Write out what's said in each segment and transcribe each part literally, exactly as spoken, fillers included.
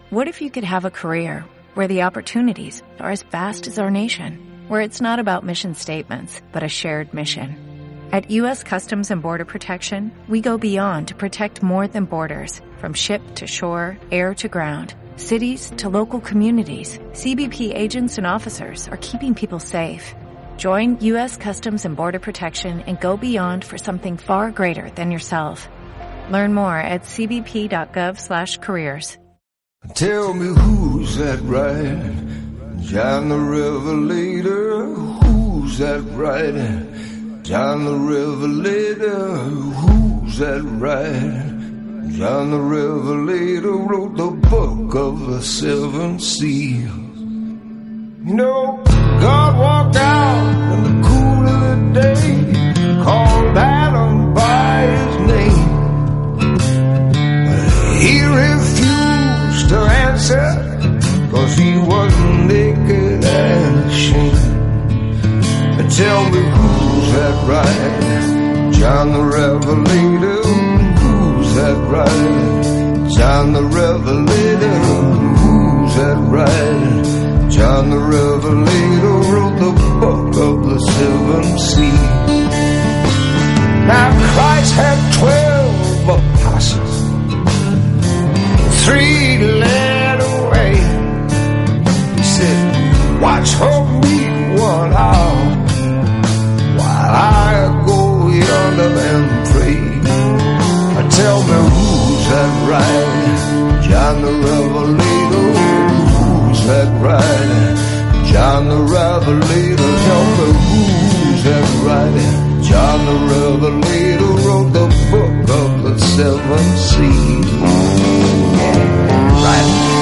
What if you could have a career where the opportunities are as vast as our nation, where it's not about mission statements, but a shared mission? At U S Customs and Border Protection, we go beyond to protect more than borders. From ship to shore, air to ground, cities to local communities, C B P agents and officers are keeping people safe. Join U S Customs and Border Protection and go beyond for something far greater than yourself. Learn more at c b p dot gov slash careers. Tell me who's that riding? John the Revelator. Who's that riding? John the Revelator. Who's that riding? John the Revelator wrote the book of the seven seals. You know, God walked out in the cool of the day, called Adam by his name. He refused to answer, cause he was naked and ashamed. But tell me who's that riding? John the Revelator. Who's that riding? John the Revelator. Who's that riding? John the Revelator wrote the book of the seven seals. Now Christ had twelve apostles, three led away. He said, watch over me one hour while I go yonder and pray. Tell me who's that riding? John the Revelator. Who's that riding? John the Revelator. Tell me who's that riding? John the Revelator wrote the book of the seven seals. Right.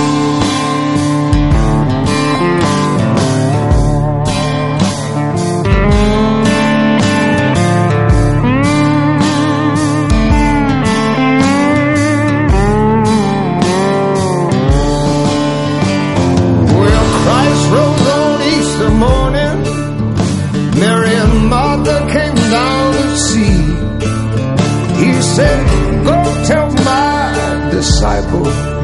Disciple,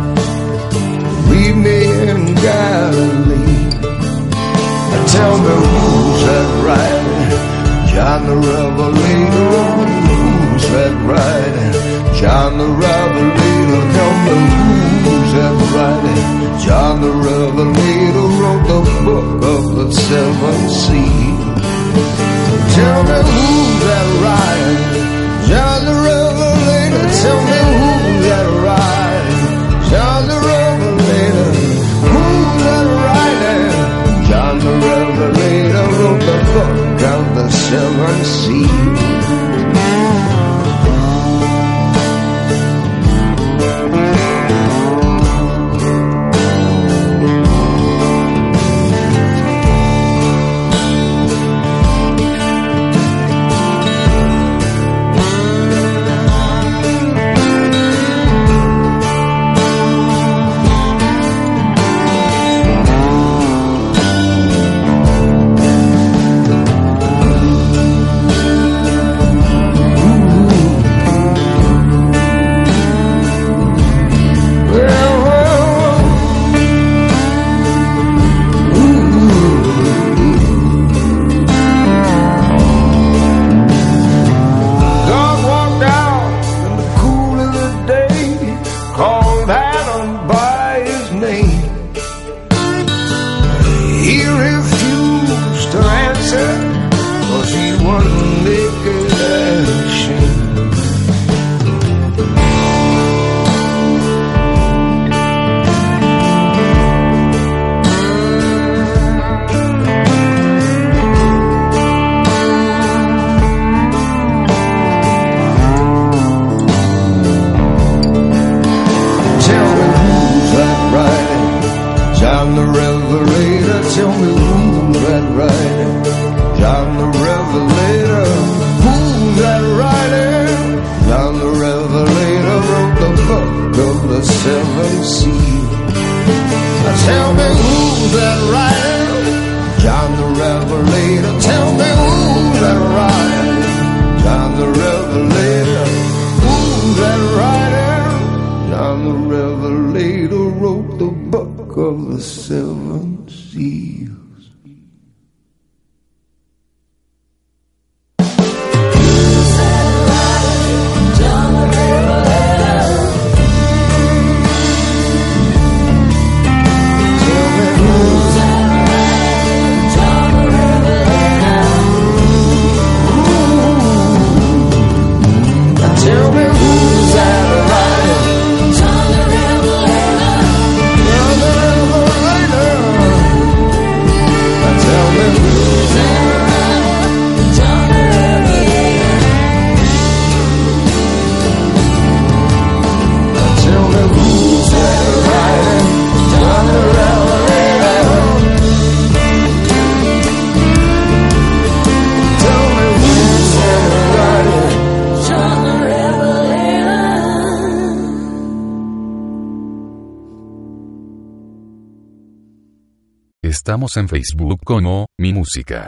leave me in Galilee. Tell me who's that riding? John the Revelator. Who's that riding? John the Revelator. Tell me who's that riding? John the Revelator wrote the book of the seven seals. Tell me who's that riding? John the Revelator. Tell me who's that riding? John the Revelator. Who's that riding? John the Revelator wrote the book of the seven seals. Revelator wrote wrote the book of the seven seals. Estamos en Facebook como Mi Música.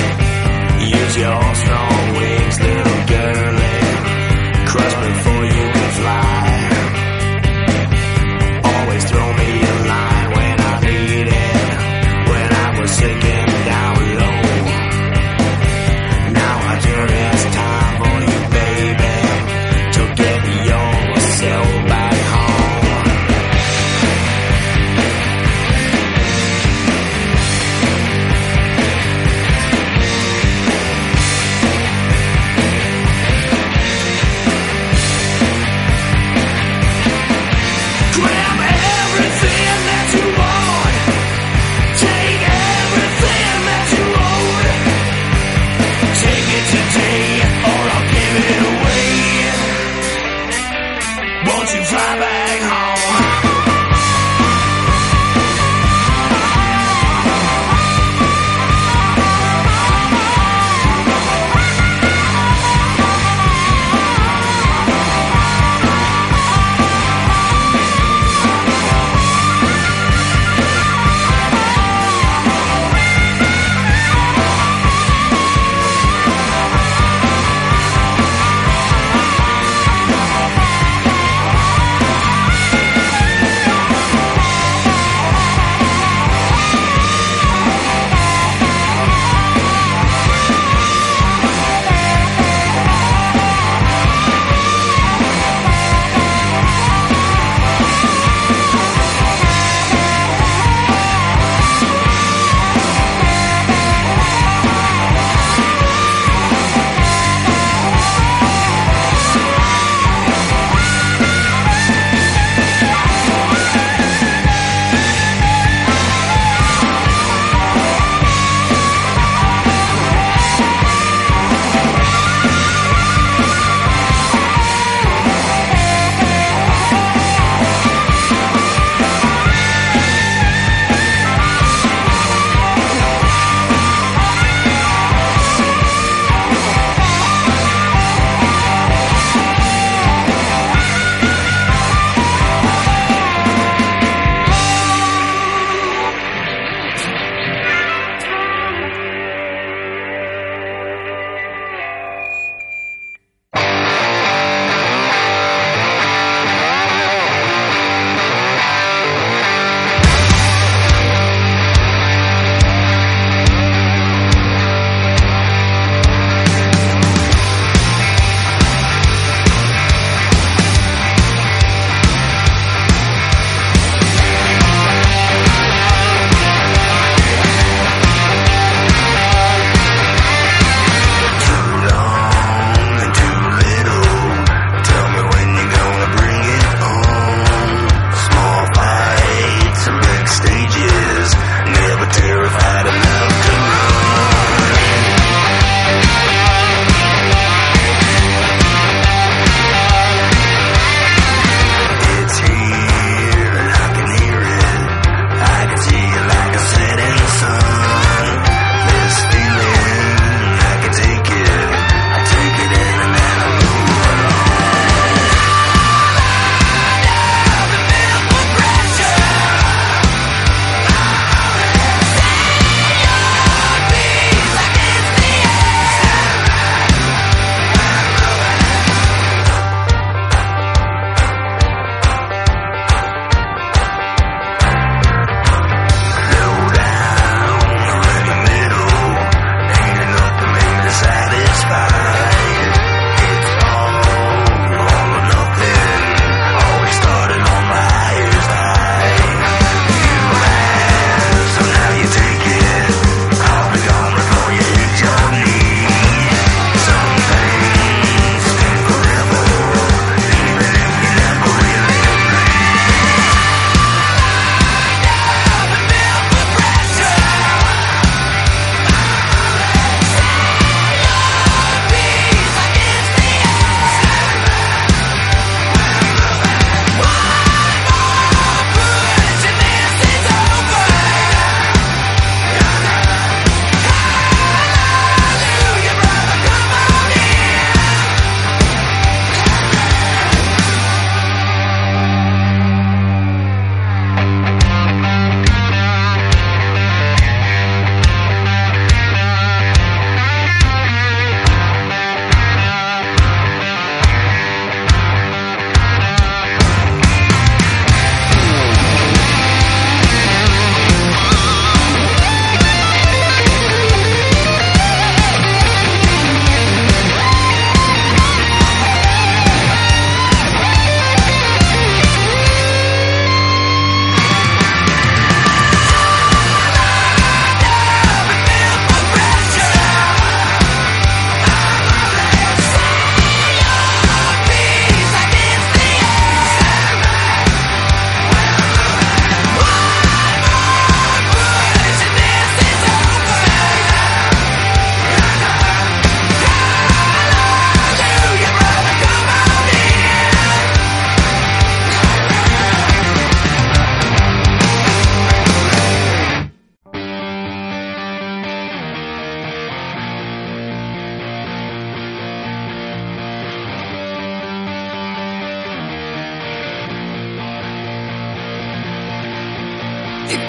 Your strong wings, little girlie, crush before you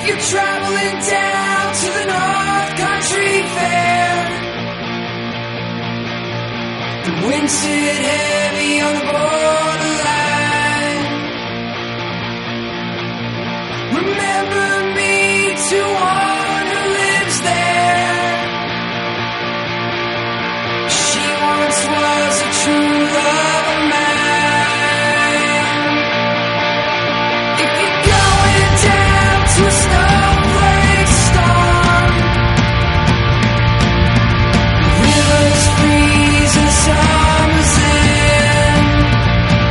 you're traveling down to the North Country Fair, the wind sit heavy on the borderline. Remember me to one who lives there. She once was a true love of mine. If you're going down to a snowflake storm, rivers freeze and summer's in.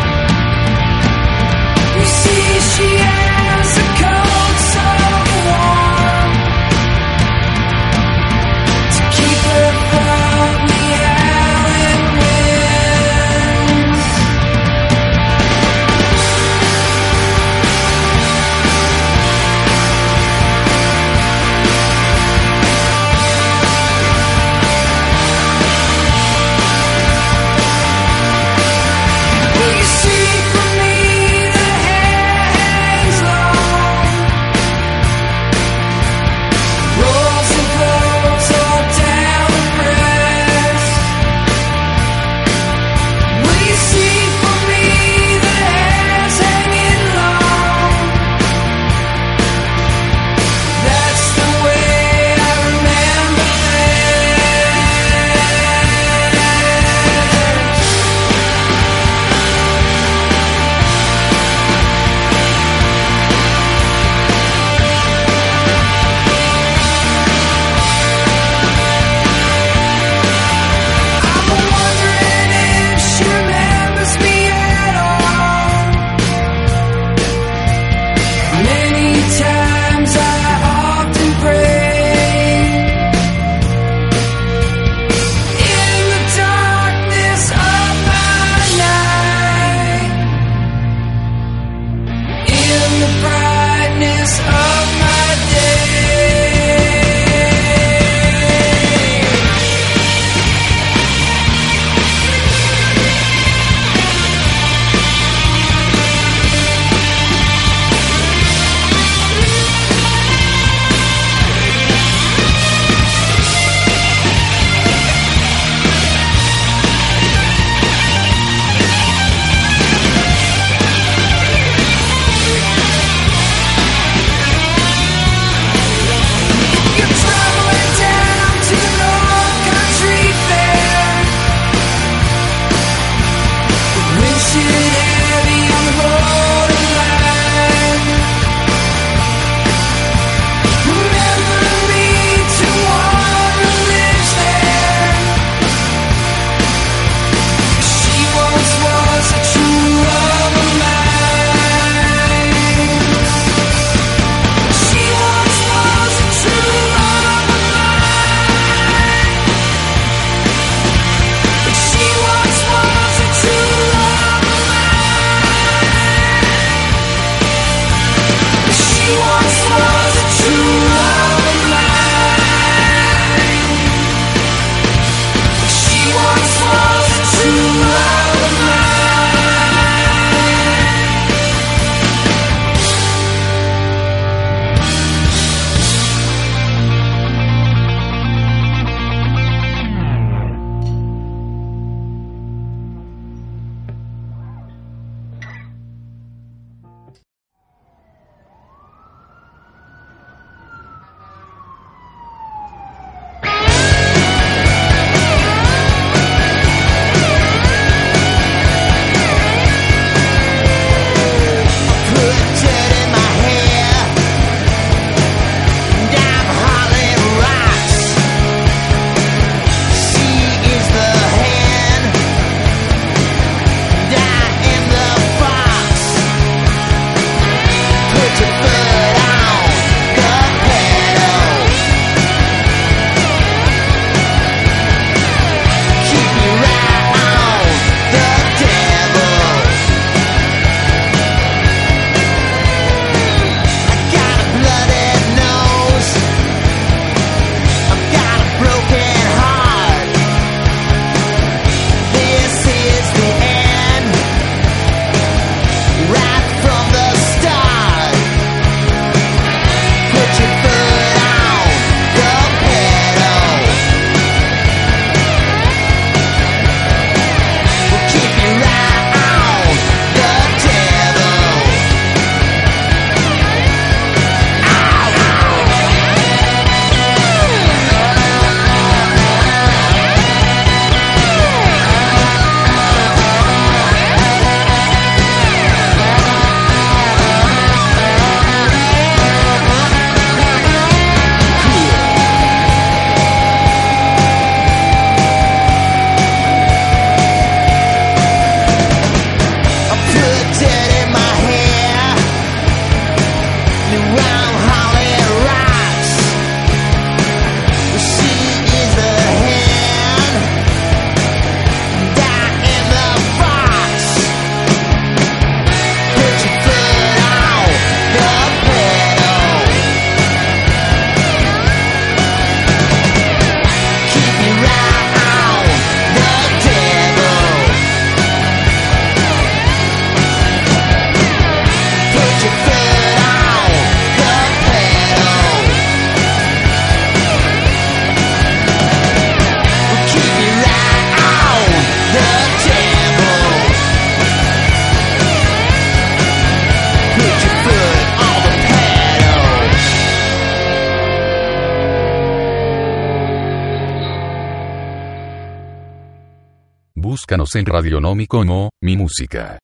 Búscanos en Radionomi como Mi Música.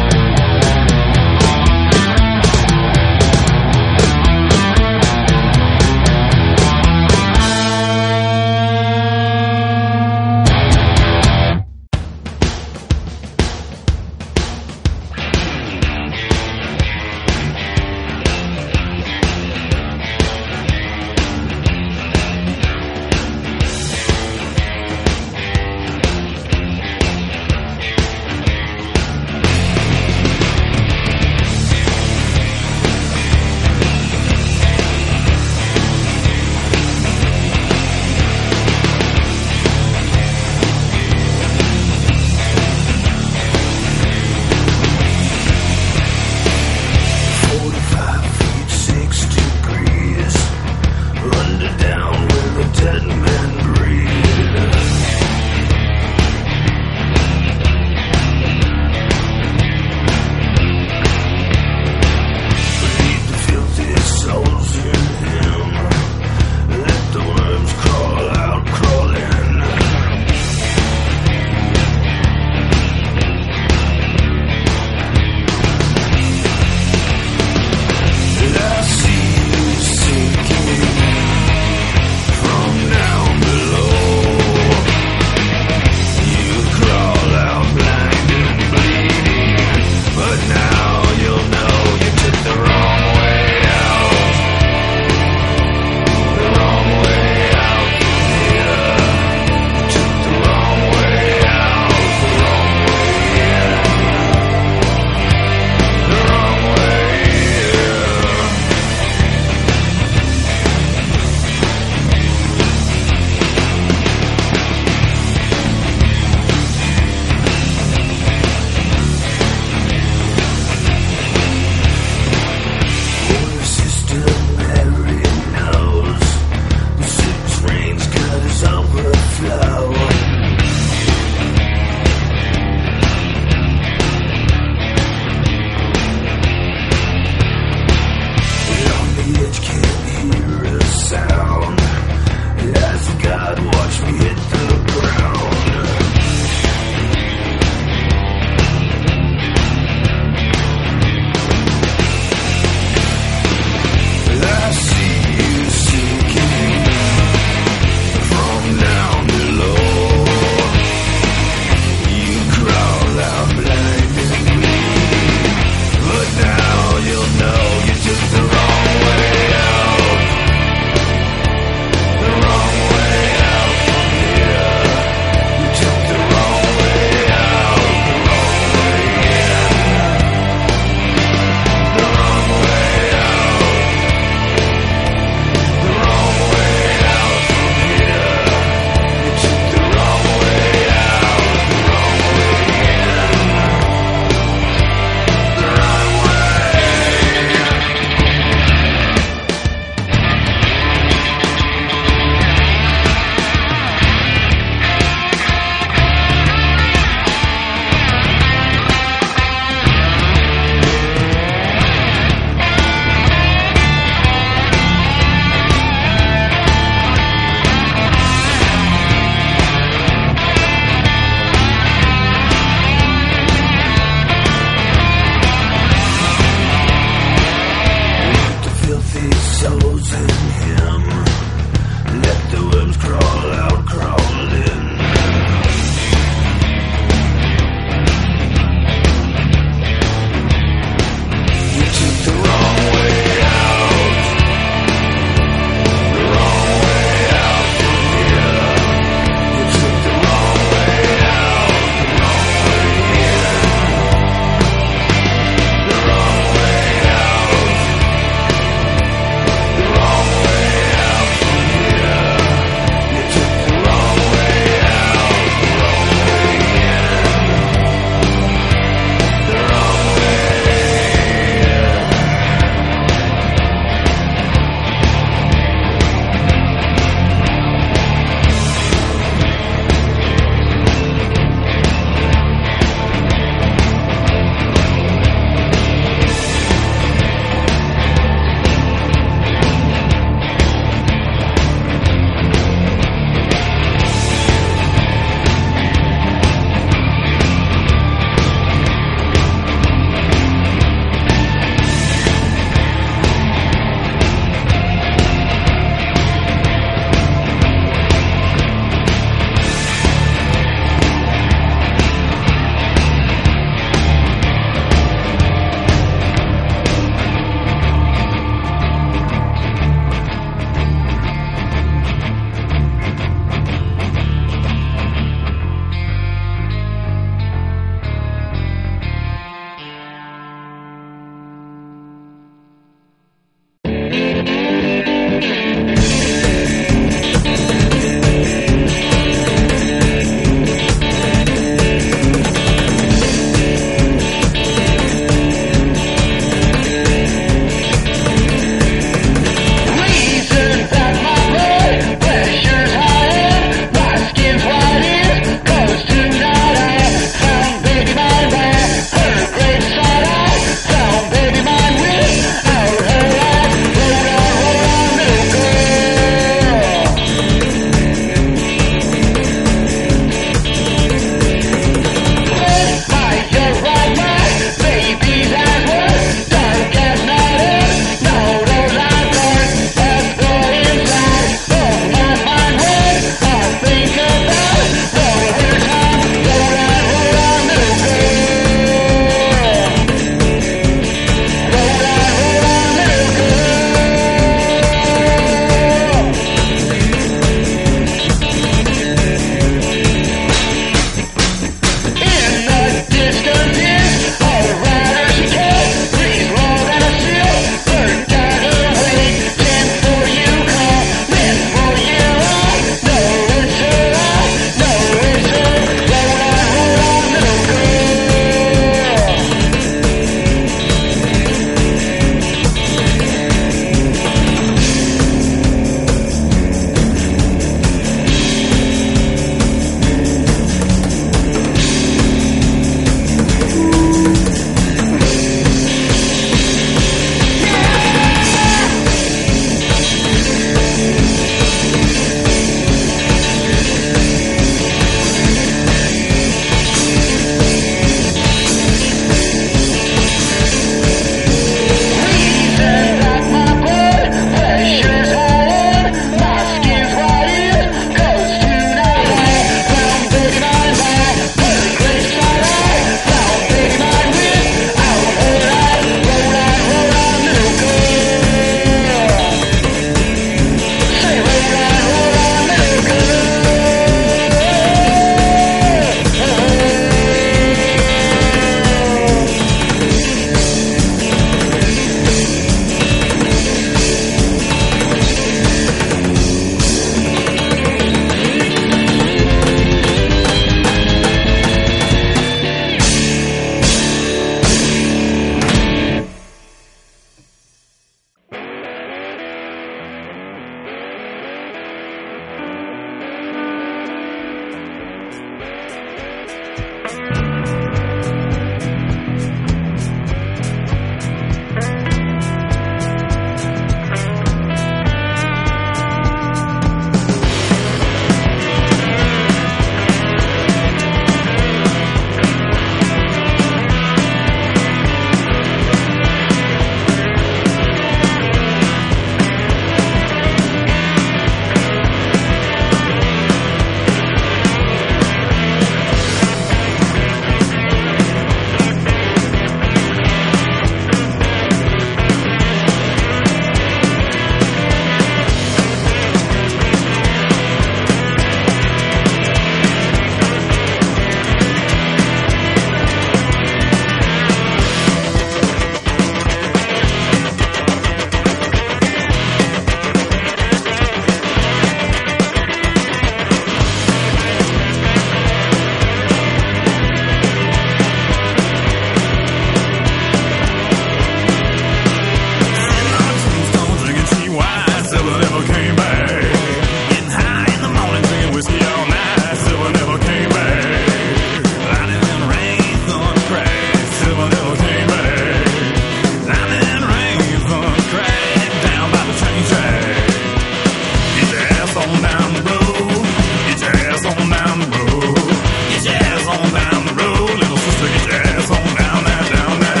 on down the road. Get your ass on down the road. Get your ass on down the road. Little sister, get your ass on down there, down there.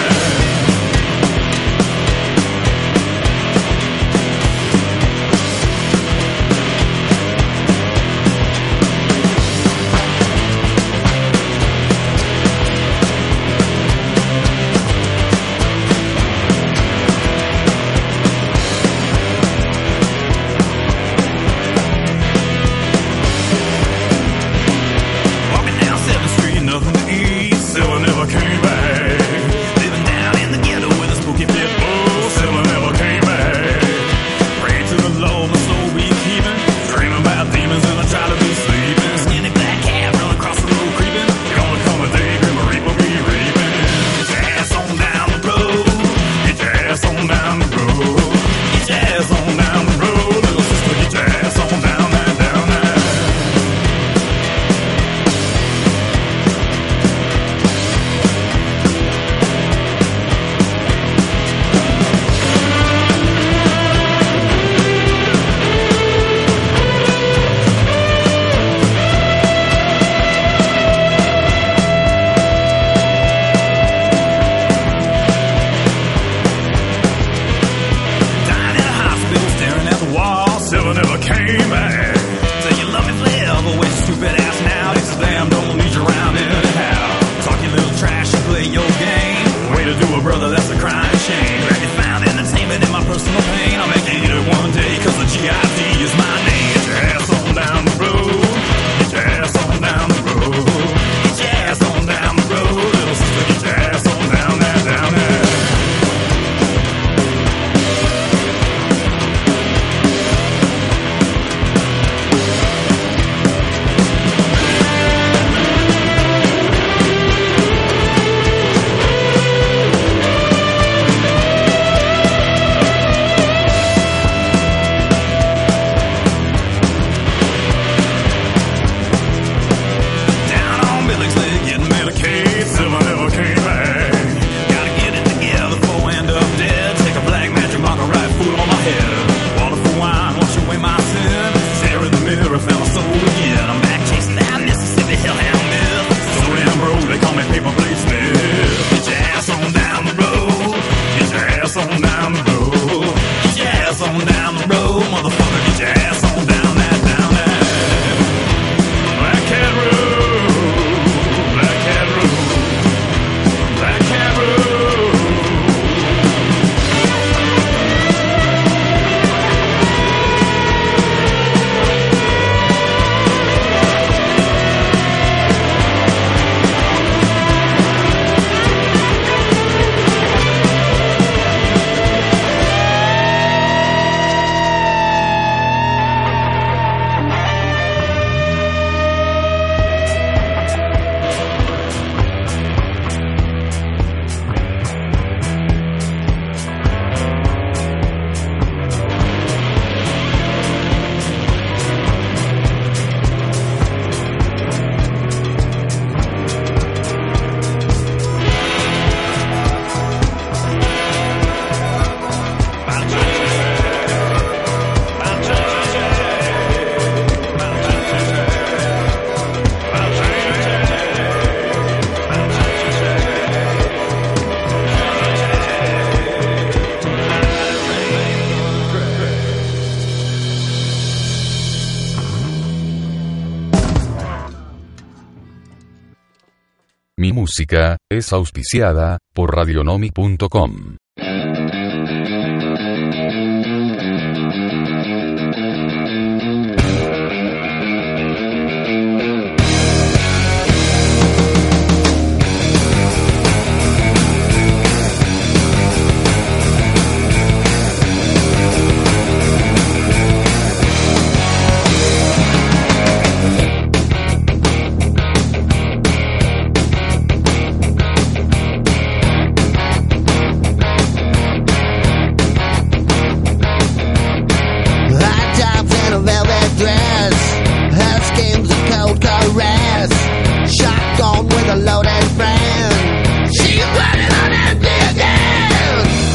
Mi música es auspiciada por radionomic punto com.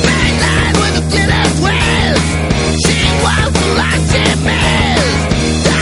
She was like she missed.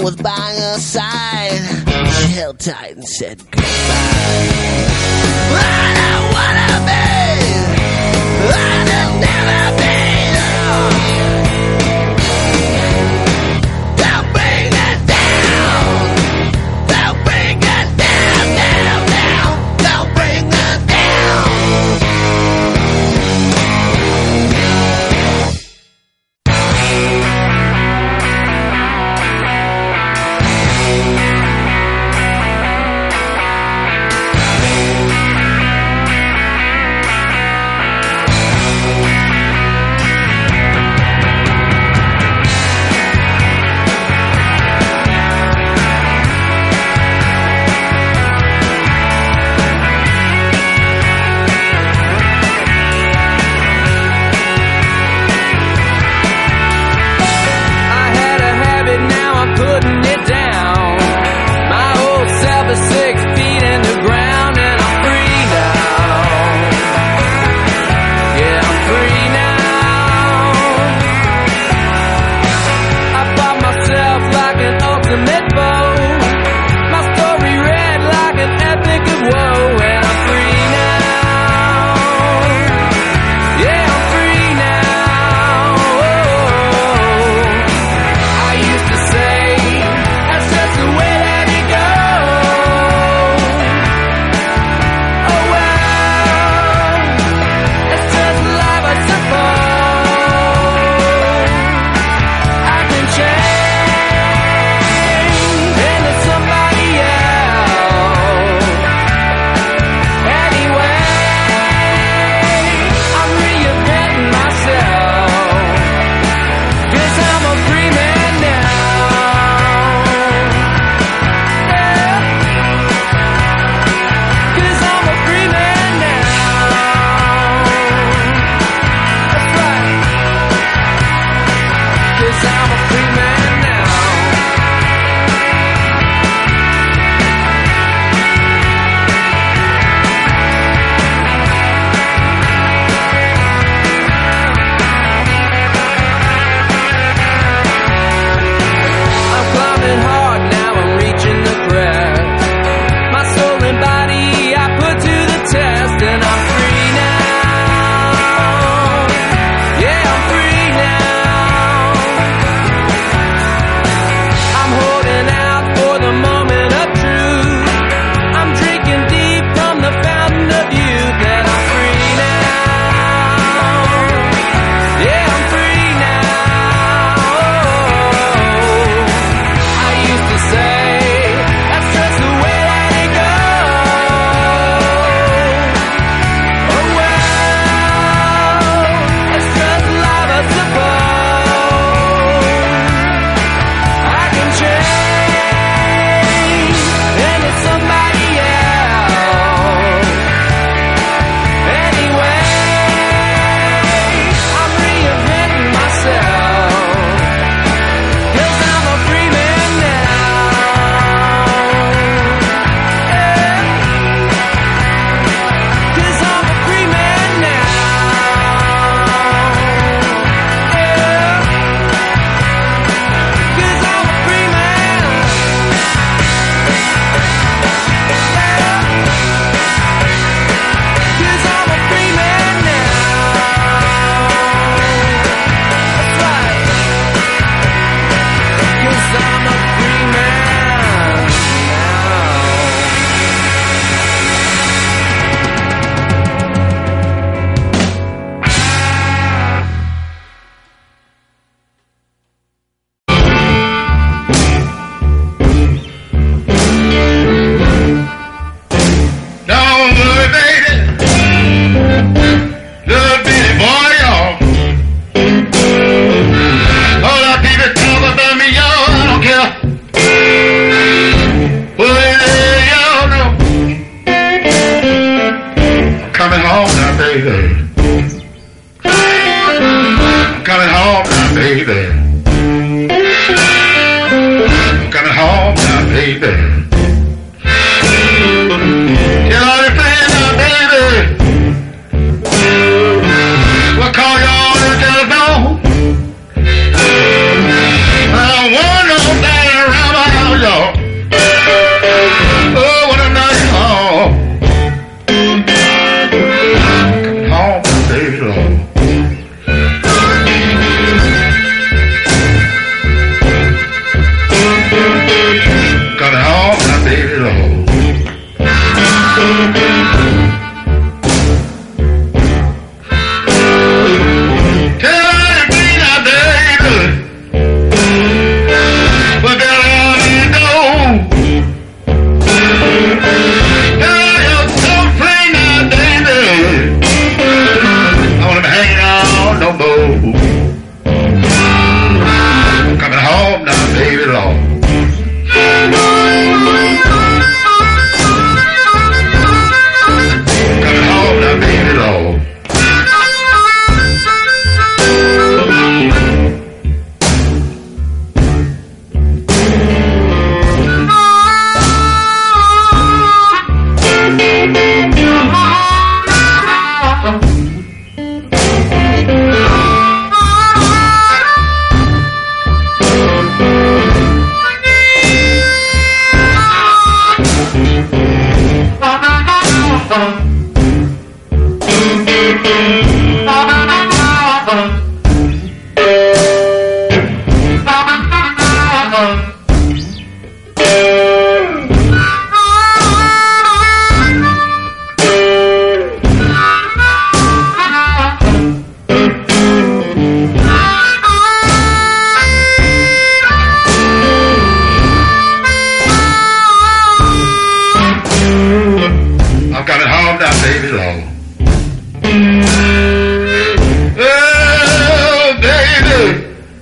was by her side. She held tight and said goodbye. I don't wanna be, I don't never be. Don't bring it down. Don't bring it down, down, down. Don't bring it down. baby Lord. Oh, baby.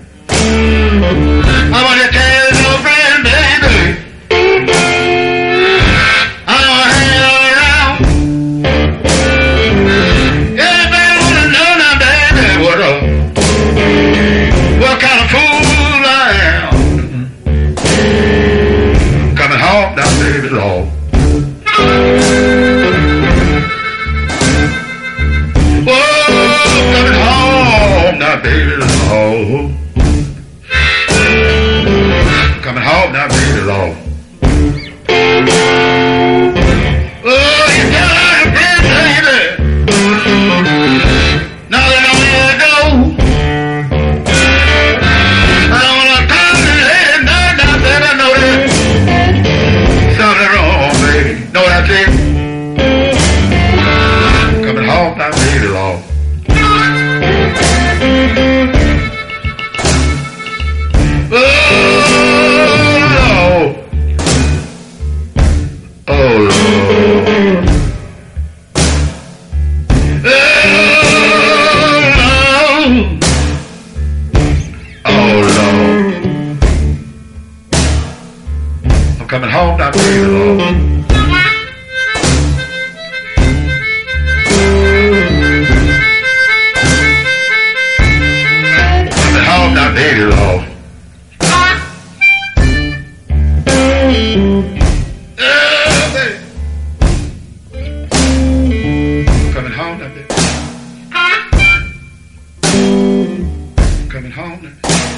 I want to tell your friend, baby. I don't hang all around. Everybody want to know now, baby, what a, what kind of fool I am. Coming home now, baby Lord. Baby Lord, coming home now, baby Lord. Oh, you tell her friend, baby. Now they don't let her go. I don't want to talk to her. No, no, baby, I know that something wrong, baby. Know what I think? Coming home now, baby Lord. Coming home now, baby Lord. Coming home now, baby Lord. Oh, baby. Coming home now, baby. Coming home now.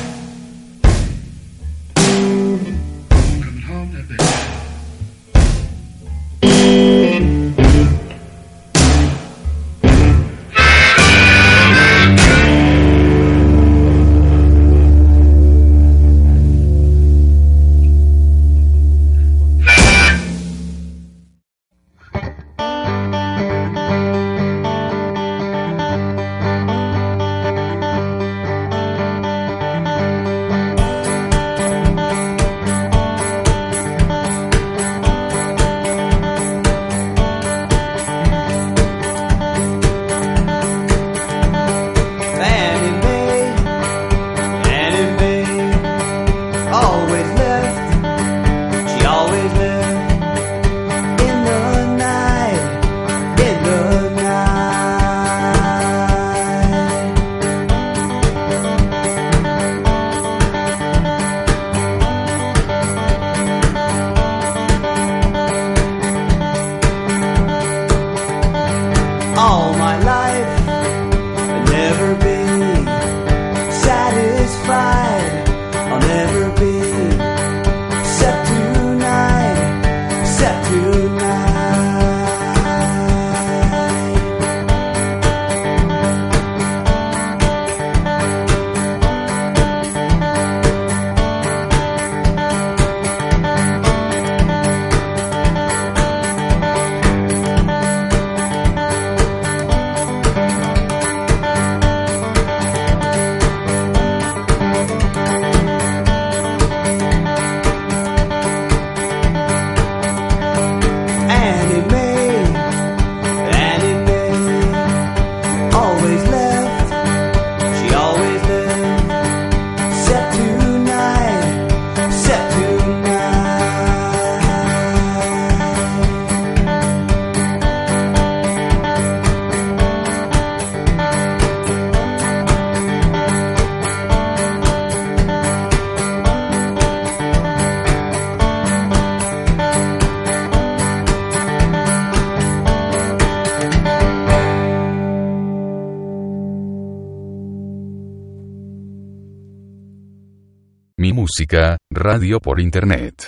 Mi música, radio por internet.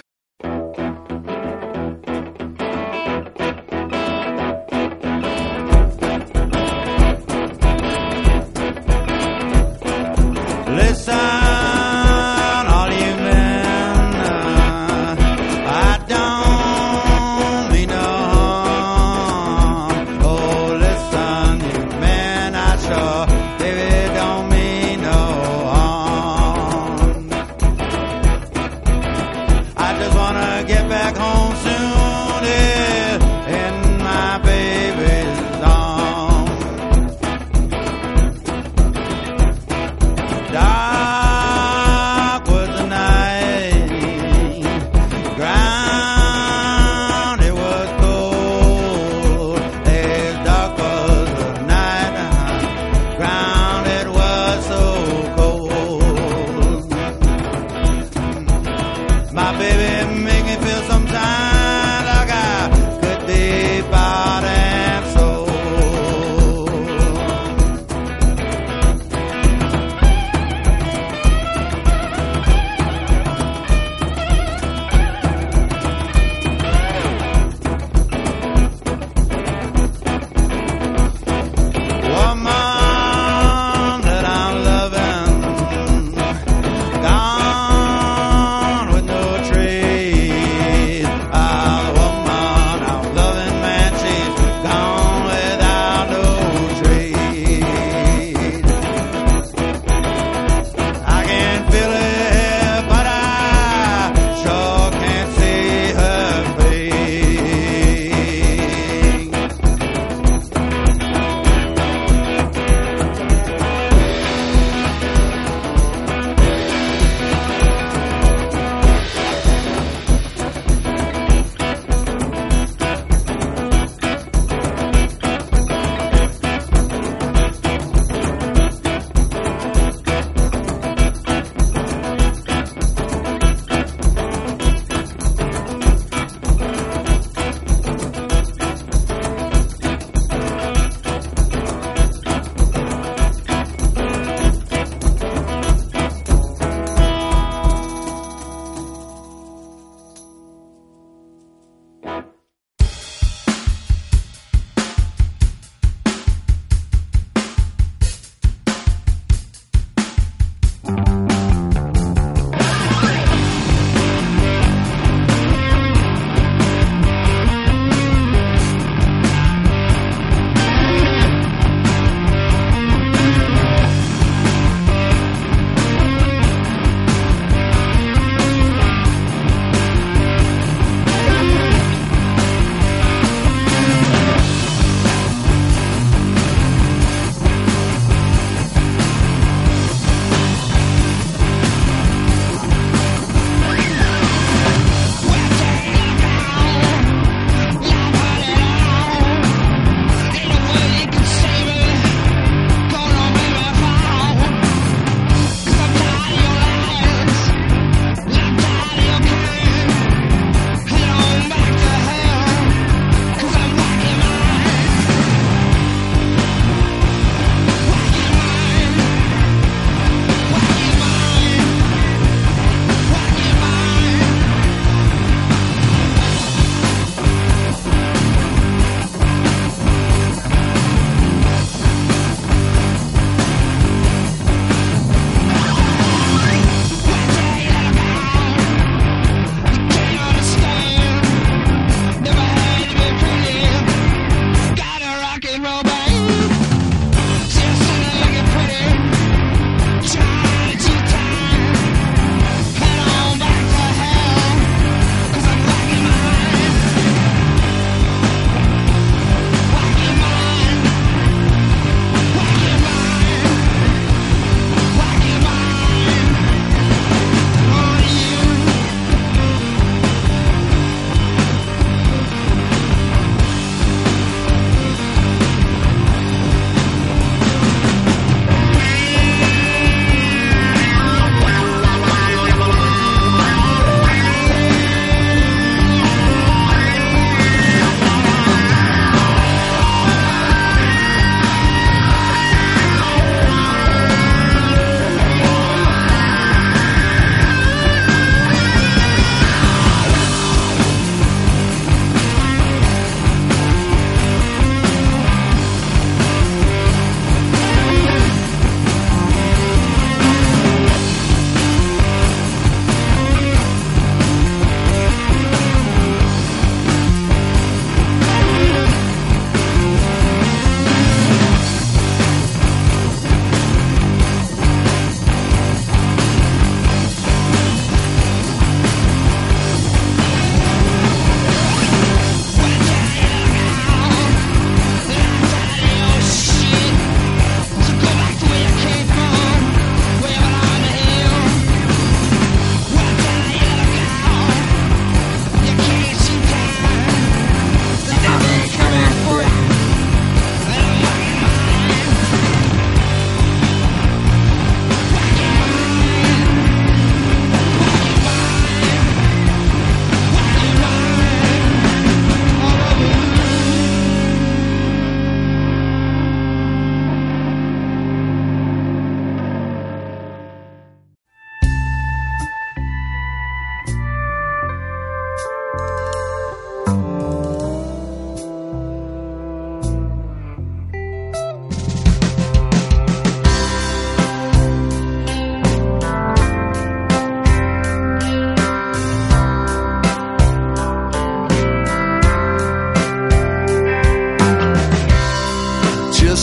I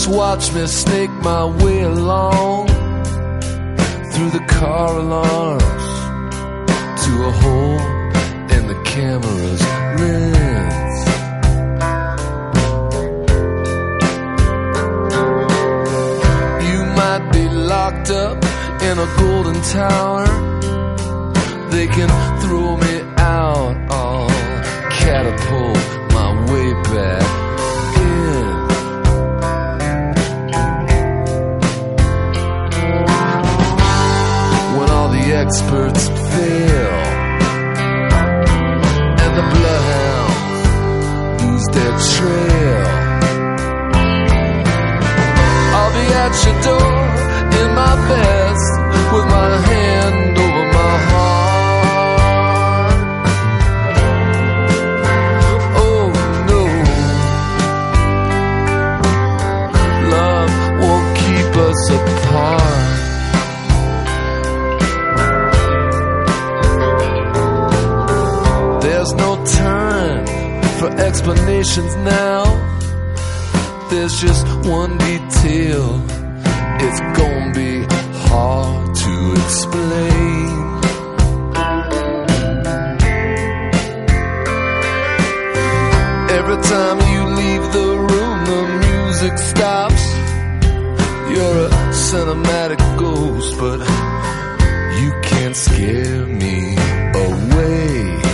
Just watch me snake my way along through the car alarms to a hole in the camera's lens. You might be locked up in a golden tower. They can throw me out, I'll catapult my way back in. When all the experts fail and the bloodhounds lose their trail, I'll be at your door in my best with my hand over my heart. Oh no, love won't keep us apart. There's no time for explanations now. There's just one detail. It's gonna be hard to explain. Every time you leave the room, the music stops. You're a cinematic ghost, but you can't scare me away.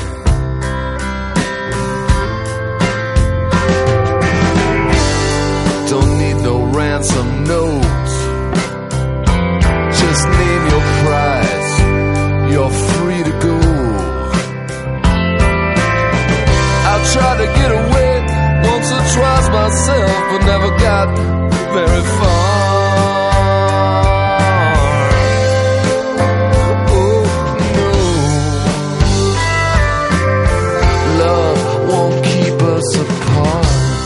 Don't need no ransom notes. Just name your price. You're free to go. I tried to get away once or twice myself, but never got very far. Oh no, love won't keep us apart.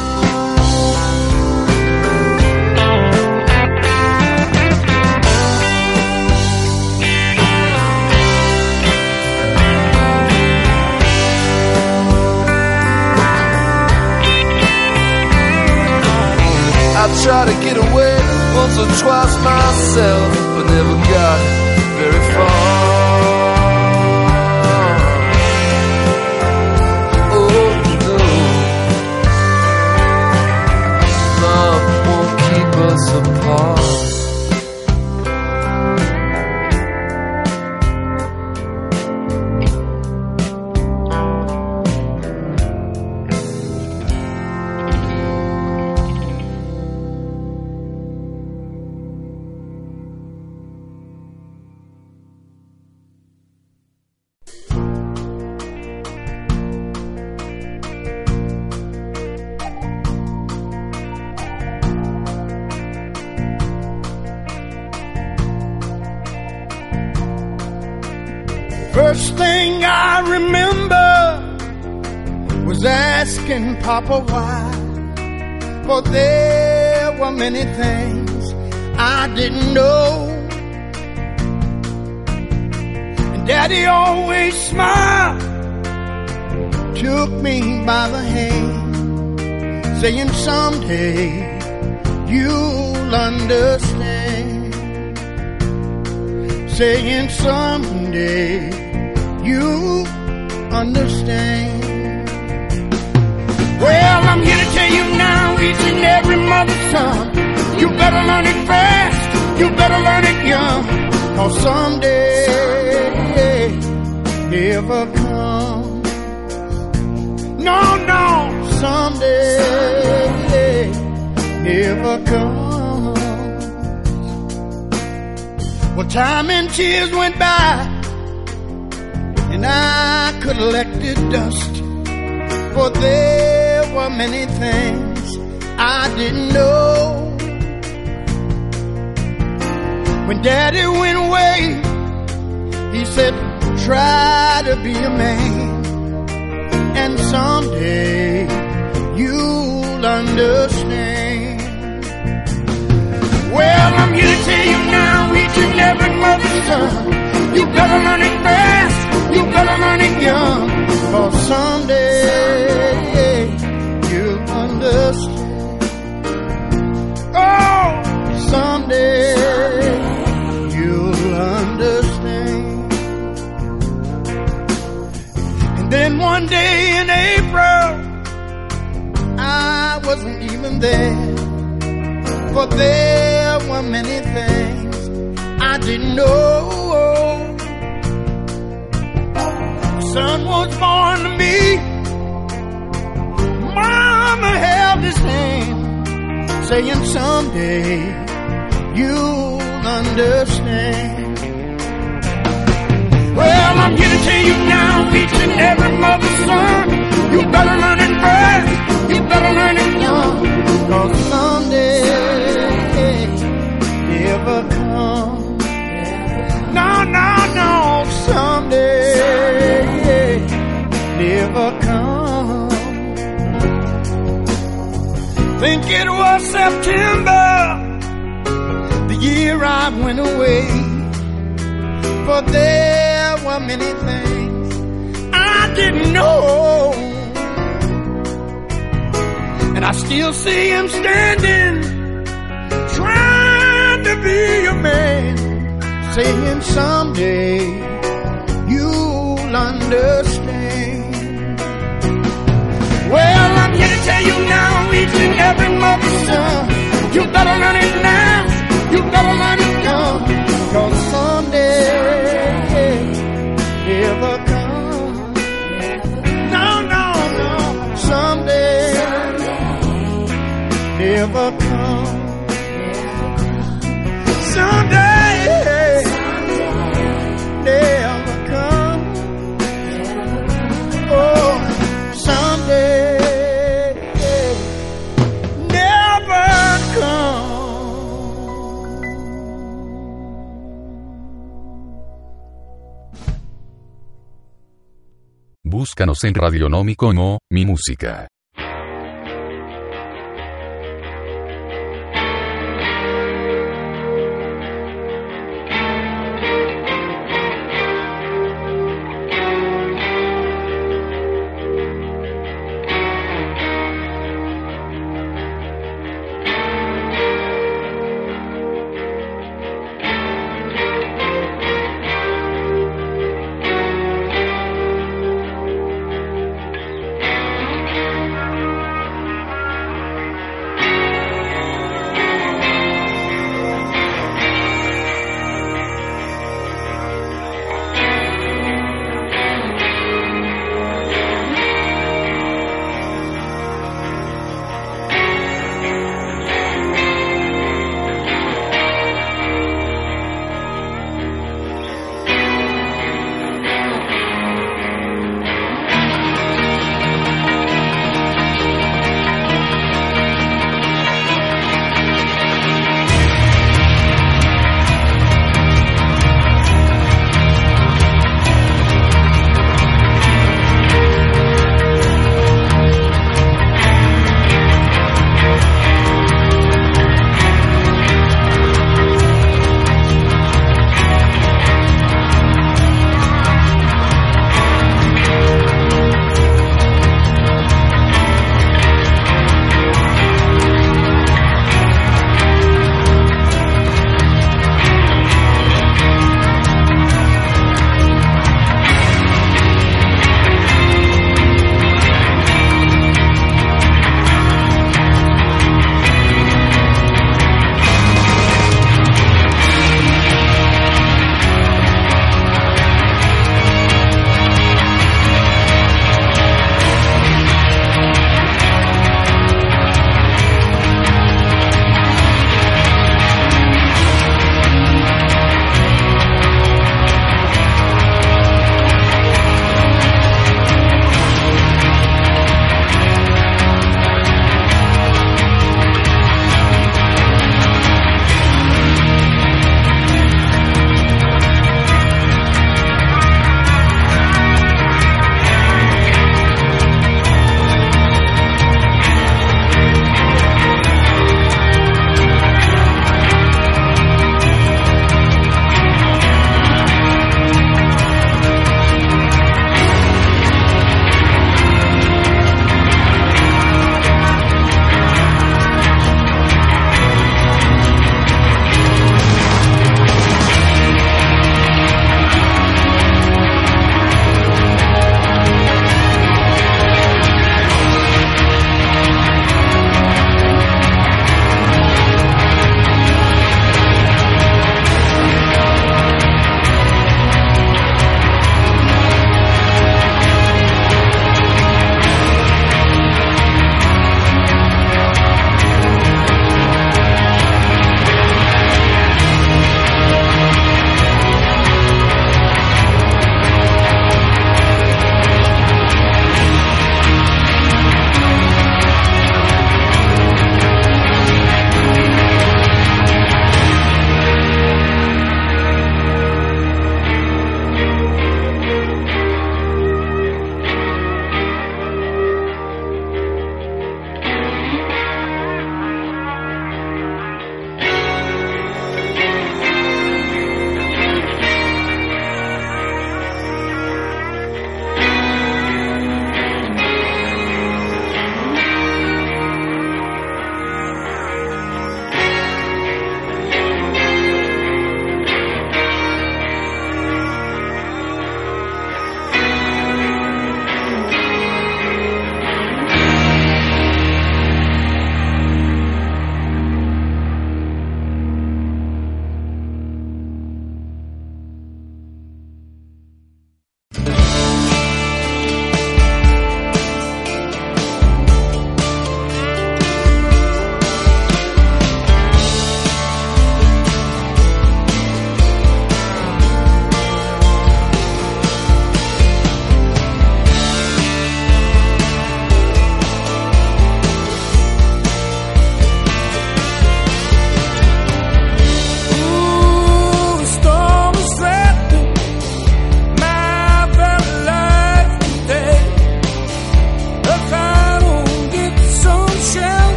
I tried to get away once or twice myself, but never got very far. Oh no, love won't keep us apart. First thing I remember was asking Papa why, for there were many things I didn't know. And Daddy always smiled, took me by the hand, saying someday you'll understand, saying someday you understand. Well, I'm here to tell you now, each and every mother's son, you better learn it fast, you better learn it young, cause someday never comes. No, no, someday never comes. Well, time and tears went by, and I collected dust, for there were many things I didn't know. When Daddy went away, he said, try to be a man, and someday you'll understand. Well, I'm here to tell you now, each and every mother's son, you better learn it fast, you better learn it young, cause someday you'll understand. Oh, wasn't even there. For there were many things I didn't know. The son was born to me. Mama held his hand, saying someday you'll understand. Well, I'm here to tell you now, each and every mother's son, you better learn it fast, you better learn it young, 'cause someday never come. No, no, no, someday never come. Think it was September, the year I went away. For there were many things I didn't know. And I still see him standing, trying to be a man, saying someday you'll understand. Well, I'm here to tell you now, each and every mother's son, you better learn it now, you better learn it young, 'cause someday never come. No, no, no, someday never come. Someday never come. Oh, someday never come. Búscanos en Radionomi como Mi Música.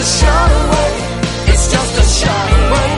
a shot away. It's just a shot away.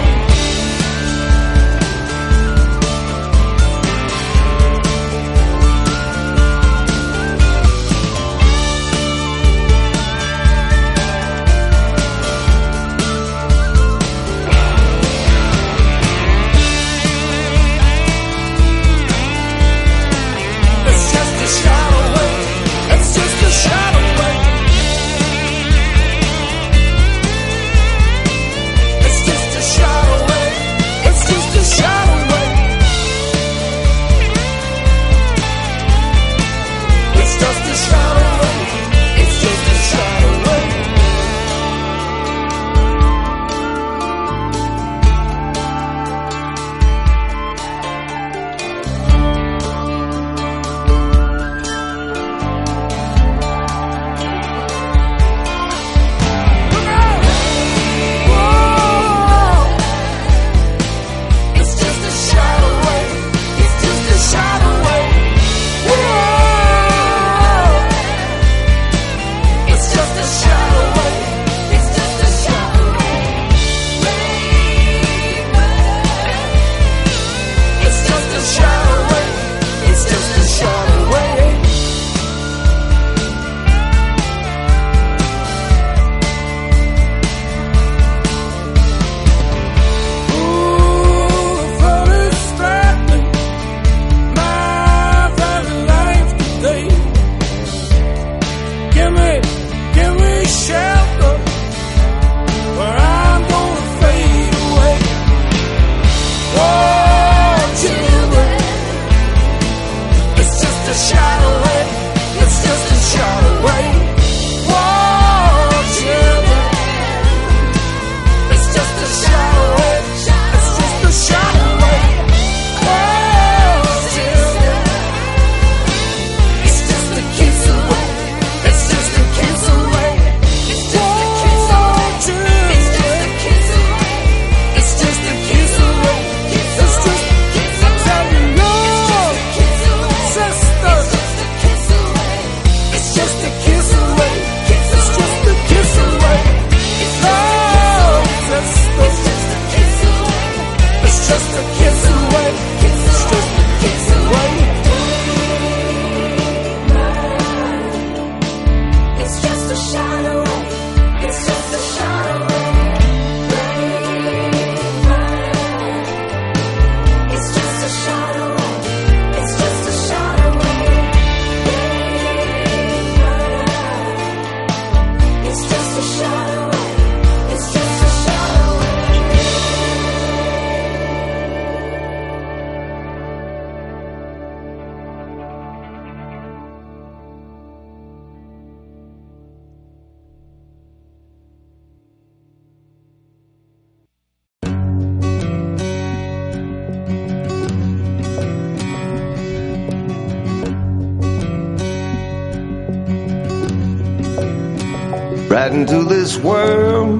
Right into this world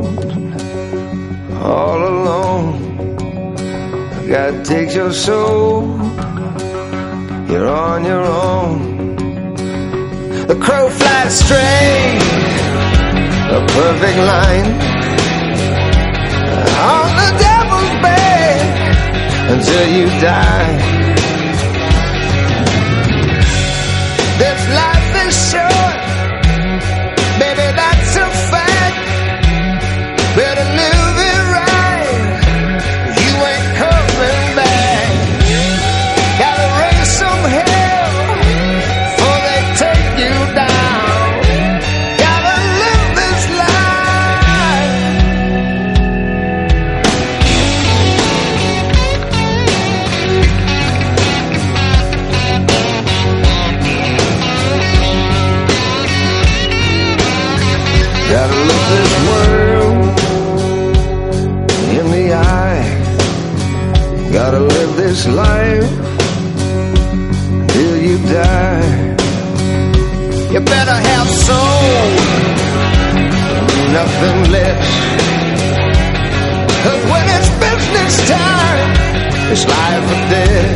all alone. God takes your soul, you're on your own. The crow flies straight, a perfect line, on the devil's bed until you die. This life is short, baby, that's a fact. Better live it right, you ain't coming back. Gotta raise some hell before they take you down. Gotta live this life. Gotta look this world in the eye. Gotta live this life till you die. You better have soul, nothing less. 'Cause when it's business time, it's life or death.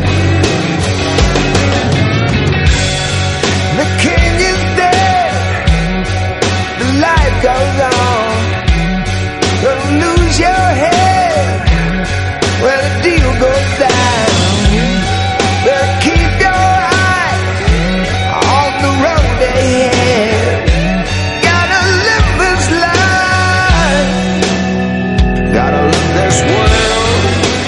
The king is dead, the life goes on. Don't lose your head when the deal goes down. Better keep your eye on the road ahead. Gotta live this life. Gotta look this world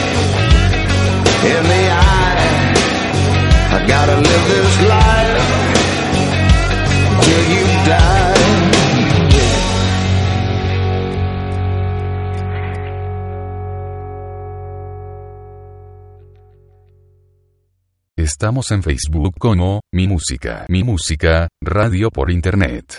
in the eye. I gotta live this life till you die. Estamos en Facebook como Mi Música, Mi Música, Radio por Internet.